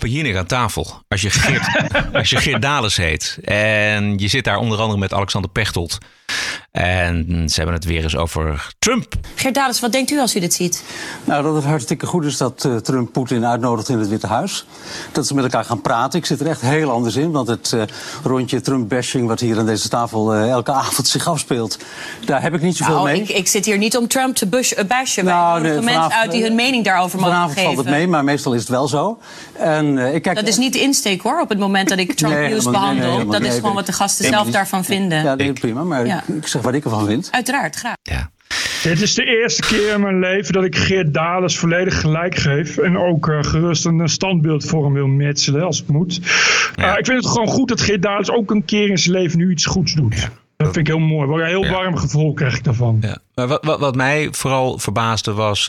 Jinek aan tafel. Als je Geert Dales heet. En je zit daar onder andere met Alexander Pechtold. En ze hebben het weer eens over Trump. Geert Dales, wat denkt u als u dit ziet? Nou, dat het hartstikke goed is dat Trump Poetin uitnodigt in het Witte Huis. Dat ze met elkaar gaan praten. Ik zit er echt heel anders in. Want het rondje Trump-bashing wat hier aan deze tafel elke avond zich afspeelt, daar heb ik niet zoveel mee. Ik zit hier niet om Trump te bashen. Wij nodigen mensen uit die hun mening daarover mogen geven. Vanavond valt het mee, maar meestal is het wel zo. En, dat is niet de insteek, hoor, op het moment dat ik Trump-nieuws behandel. Dat is gewoon wat de gasten zelf daarvan vinden. Ja, nee, prima, maar ik zeg wat ik ervan vind. Uiteraard, graag. Ja. Dit is de eerste keer in mijn leven dat ik Geert Dales volledig gelijk geef. En ook gerust een standbeeld voor hem wil metselen als het moet. Ja. Ik vind het gewoon goed dat Geert Dales ook een keer in zijn leven nu iets goeds doet. Ja. Dat vind ik heel mooi. Een heel warm gevoel krijg ik daarvan. Ja. Maar wat mij vooral verbaasde was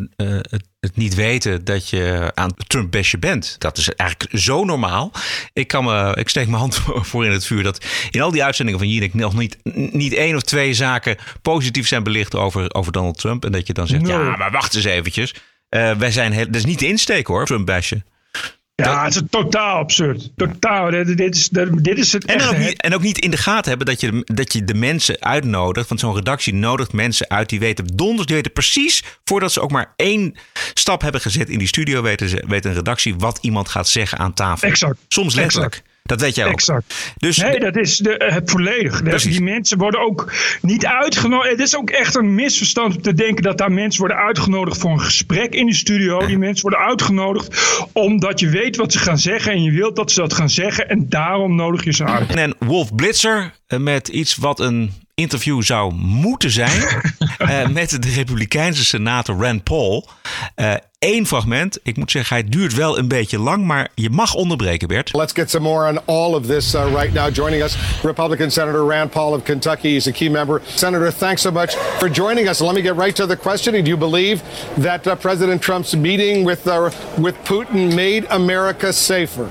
het niet weten dat je aan Trump-bashen bent. Dat is eigenlijk zo normaal. Ik steek mijn hand voor in het vuur dat in al die uitzendingen van Jinek nog niet 1 of 2 zaken positief zijn belicht over Donald Trump. En dat je dan zegt, ja, maar wacht eens eventjes. Dat is niet de insteek, hoor, Trump-bashen. Ja, het is totaal absurd. Totaal. Dit is het en ook niet in de gaten hebben dat je de mensen uitnodigt. Want zo'n redactie nodigt mensen uit die weten precies, voordat ze ook maar 1 stap hebben gezet in die studio, weet een redactie wat iemand gaat zeggen aan tafel. Exact. Soms letterlijk. Exact. Dat weet jij ook. Exact. Dus nee, dat is het volledig. Die mensen worden ook niet uitgenodigd. Het is ook echt een misverstand om te denken dat daar mensen worden uitgenodigd voor een gesprek in de studio. Ja. Die mensen worden uitgenodigd omdat je weet wat ze gaan zeggen en je wilt dat ze dat gaan zeggen en daarom nodig je ze uit. En Wolf Blitzer met iets wat een interview zou moeten zijn met de Republikeinse senator Rand Paul. 1 fragment. Ik moet zeggen, hij duurt wel een beetje lang, maar je mag onderbreken, Bert. Let's get some more on all of this right now. Joining us, Republican Senator Rand Paul of Kentucky. He's a key member. Senator, thanks so much for joining us. Let me get right to the question. Do you believe that President Trump's meeting with Putin made America safer?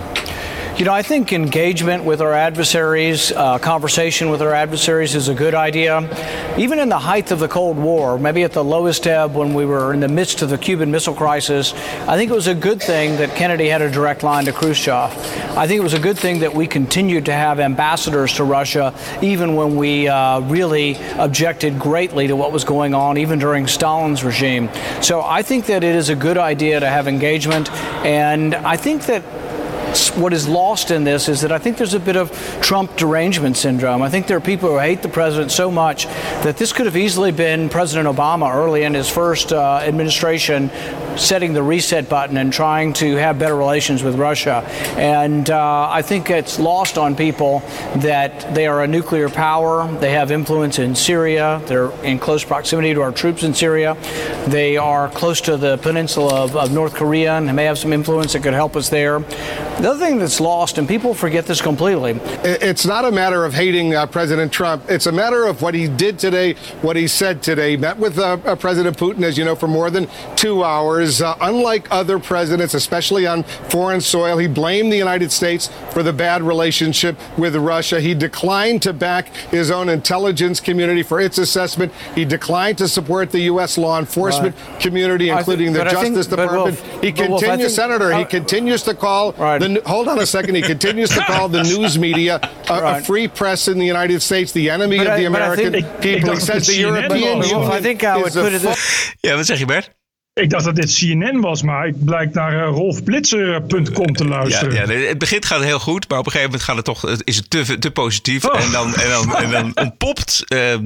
You know, I think engagement with our adversaries, conversation with our adversaries is a good idea. Even in the height of the Cold War, maybe at the lowest ebb when we were in the midst of the Cuban Missile Crisis, I think it was a good thing that Kennedy had a direct line to Khrushchev. I think it was a good thing that we continued to have ambassadors to Russia, even when we really objected greatly to what was going on, even during Stalin's regime. So I think that it is a good idea to have engagement, and I think that what is lost in this is that I think there's a bit of Trump derangement syndrome. I think there are people who hate the president so much that this could have easily been President Obama early in his first administration setting the reset button and trying to have better relations with Russia. And I think it's lost on people that they are a nuclear power. They have influence in Syria. They're in close proximity to our troops in Syria. They are close to the peninsula of North Korea and may have some influence that could help us there. The other thing that's lost, and people forget this completely. It's not a matter of hating President Trump. It's a matter of what he did today, what he said today. Met with President Putin, as you know, for more than 2 hours. Unlike other presidents, especially on foreign soil, he blamed the United States for the bad relationship with Russia. He declined to back his own intelligence community for its assessment. He declined to support the U.S. law enforcement community, including the Justice Department. He continues, Senator, he continues to call hold on a second. He continues to call the news media a free press in the United States, the enemy of the American people. He says the European Union. I think I would put it this. Ja, wat zeg je, Bert? Ik dacht dat dit CNN was, maar ik blijk naar rolfblitzer.com te luisteren. Ja, het begin gaat heel goed, maar op een gegeven moment gaat het toch, is het te positief. Oh. En dan ontpopt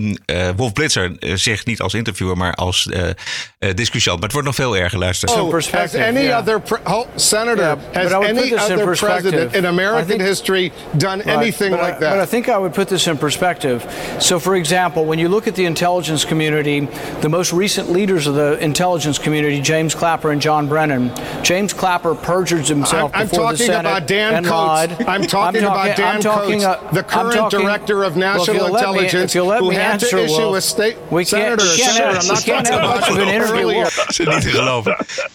Wolf Blitzer zich niet als interviewer, maar als discussiant. Maar het wordt nog veel erger, luister. Has any other Senator, has any other president in American history done anything like that? But I think I would put this in perspective. So, for example, when you look at the intelligence community, the most recent leaders of the intelligence community, James Clapper and John Brennan. James Clapper perjured himself before the Senate and lied. I'm talking about Dan Coates, the current director of national intelligence, who had to issue a state. Senator, I'm not talking about an interview. Dat is niet te geloven.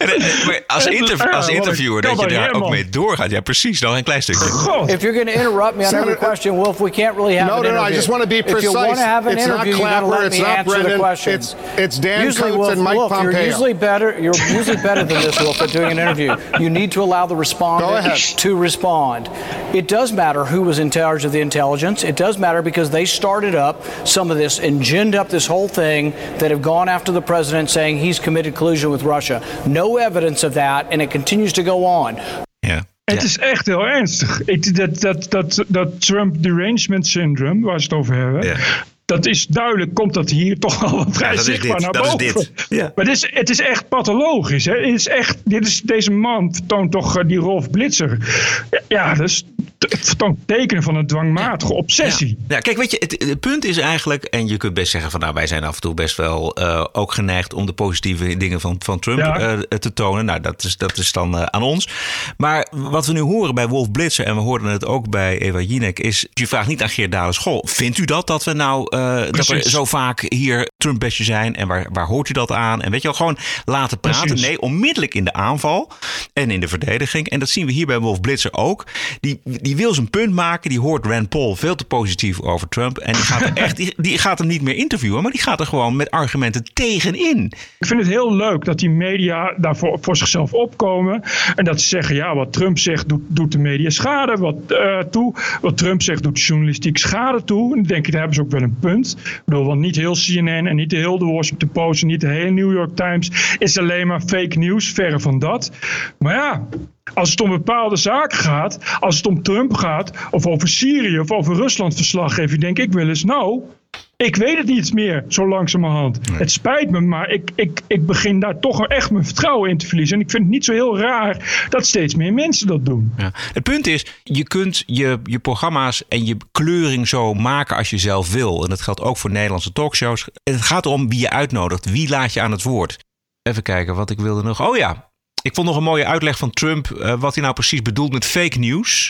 Als interviewer dat je daar ook mee doorgaat. Ja, precies. Nog een klein stukje. If you're going to interrupt me on every question, Wolf, we can't really have an interview. No, I just want to be precise. If you want to have an interview, you got to let me answer the questions. It's Dan Coates and Mike Pompeo. You're usually better better. You're usually better than this, Wolf, at doing an interview. You need to allow the respondent to respond. It does matter who was in charge of the intelligence. It does matter because they started up some of this and ginned up this whole thing that have gone after the president saying he's committed collusion with Russia. No evidence of that, and it continues to go on. Yeah. Het is echt heel ernstig. Dat Trump derangement syndrome, waar ze het over hebben... Dat is duidelijk, komt dat hier toch al vrij zichtbaar naar boven. Dat is dit. Ja. Maar het is echt pathologisch. Hè? Deze man vertoont toch die Rolf Blitzer. Ja, dat is vertoont tekenen van een dwangmatige obsessie. Ja, kijk, weet je, het punt is eigenlijk... en je kunt best zeggen van wij zijn af en toe best wel ook geneigd... om de positieve dingen van Trump te tonen. Nou, dat is dan aan ons. Maar wat we nu horen bij Wolf Blitzer... en we hoorden het ook bij Eva Jinek... is, je vraagt niet aan Geert Dales... Goh, vindt u dat we nou... dat er zo vaak hier Trump-basje zijn en waar hoort u dat aan? En weet je wel, gewoon laten praten. Precies. Nee, onmiddellijk in de aanval en in de verdediging. En dat zien we hier bij Wolf Blitzer ook. Die wil zijn punt maken. Die hoort Rand Paul veel te positief over Trump. En die gaat hem niet meer interviewen, maar die gaat er gewoon met argumenten tegenin. Ik vind het heel leuk dat die media daarvoor voor zichzelf opkomen. En dat ze zeggen, wat Trump zegt doet de media schade Wat Trump zegt doet journalistiek schade toe. En dan denk ik, daar hebben ze ook wel een punt. Ik bedoel, want niet heel CNN en niet heel de Washington Post en niet de hele New York Times is alleen maar fake news, verre van dat. Maar ja, als het om bepaalde zaken gaat, als het om Trump gaat, of over Syrië of over Rusland verslag geven, denk ik wel eens, ik weet het niet meer, zo langzamerhand. Nee. Het spijt me, maar ik begin daar toch echt mijn vertrouwen in te verliezen. En ik vind het niet zo heel raar dat steeds meer mensen dat doen. Ja. Het punt is, je kunt je programma's en je kleuring zo maken als je zelf wil. En dat geldt ook voor Nederlandse talkshows. Het gaat om wie je uitnodigt, wie laat je aan het woord. Even kijken wat ik wilde nog. Oh ja, ik vond nog een mooie uitleg van Trump, wat hij nou precies bedoelt met fake news.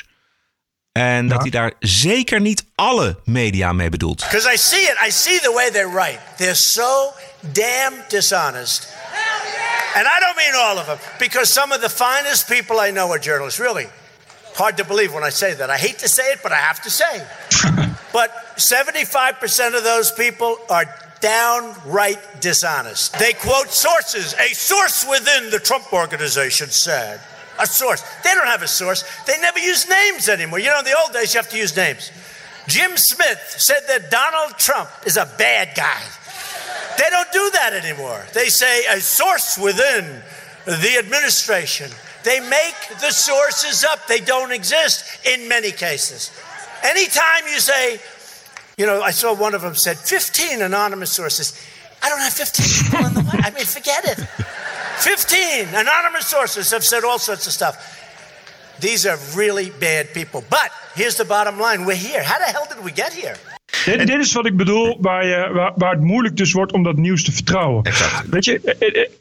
En dat hij daar zeker niet alle media mee bedoelt. Because I see the way they write. They're so damn dishonest. And I don't mean all of them. Because some of the finest people I know are journalists. Really. Hard to believe when I say that. I hate to say it, but I have to say. But 75% of those people are downright dishonest. They quote sources. A source within the Trump organization said... A source. They don't have a source. They never use names anymore. You know, in the old days, you have to use names. Jim Smith said that Donald Trump is a bad guy. They don't do that anymore. They say a source within the administration. They make the sources up. They don't exist in many cases. Anytime you say, I saw one of them said 15 anonymous sources. I don't have 15 people in the way. I mean, forget it. 15 anonymous sources have said all sorts of stuff. These are really bad people. But here's the bottom line. We're here. How the hell did we get here? Dit is wat ik bedoel, waar het moeilijk dus wordt om dat nieuws te vertrouwen. Exact. Weet je,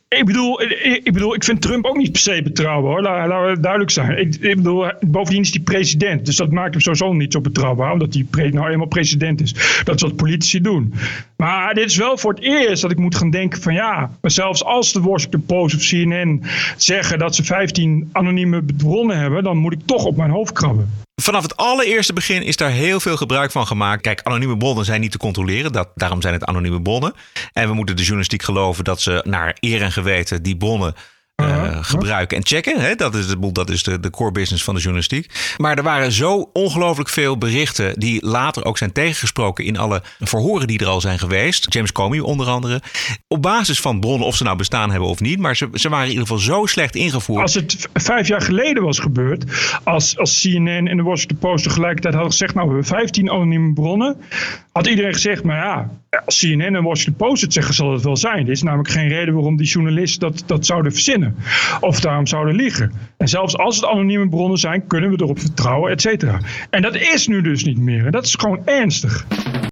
ik vind Trump ook niet per se betrouwbaar, hoor. Laten we duidelijk zijn. Ik bedoel, bovendien is hij president, dus dat maakt hem sowieso niet zo betrouwbaar, omdat hij nou eenmaal president is. Dat is wat politici doen. Maar dit is wel voor het eerst dat ik moet gaan denken van maar zelfs als de Washington Post of CNN zeggen dat ze 15 anonieme bronnen hebben, dan moet ik toch op mijn hoofd krabben. Vanaf het allereerste begin is daar heel veel gebruik van gemaakt. Kijk, anonieme bronnen zijn niet te controleren. Daarom zijn het anonieme bronnen. En we moeten de journalistiek geloven dat ze naar eer en geweten die bronnen gebruiken en checken. Hè? Dat is de core business van de journalistiek. Maar er waren zo ongelooflijk veel berichten die later ook zijn tegengesproken in alle verhoren die er al zijn geweest. James Comey onder andere. Op basis van bronnen, of ze nou bestaan hebben of niet. Maar ze waren in ieder geval zo slecht ingevoerd. Als het 5 jaar geleden was gebeurd, als CNN en de Washington Post tegelijkertijd hadden gezegd, we hebben 15 anonieme bronnen, had iedereen gezegd, maar als CNN en Washington Post het zeggen, zal het wel zijn. Er is namelijk geen reden waarom die journalisten dat zouden verzinnen. Of daarom zouden liegen. En zelfs als het anonieme bronnen zijn, kunnen we erop vertrouwen, et cetera. En dat is nu dus niet meer. En dat is gewoon ernstig.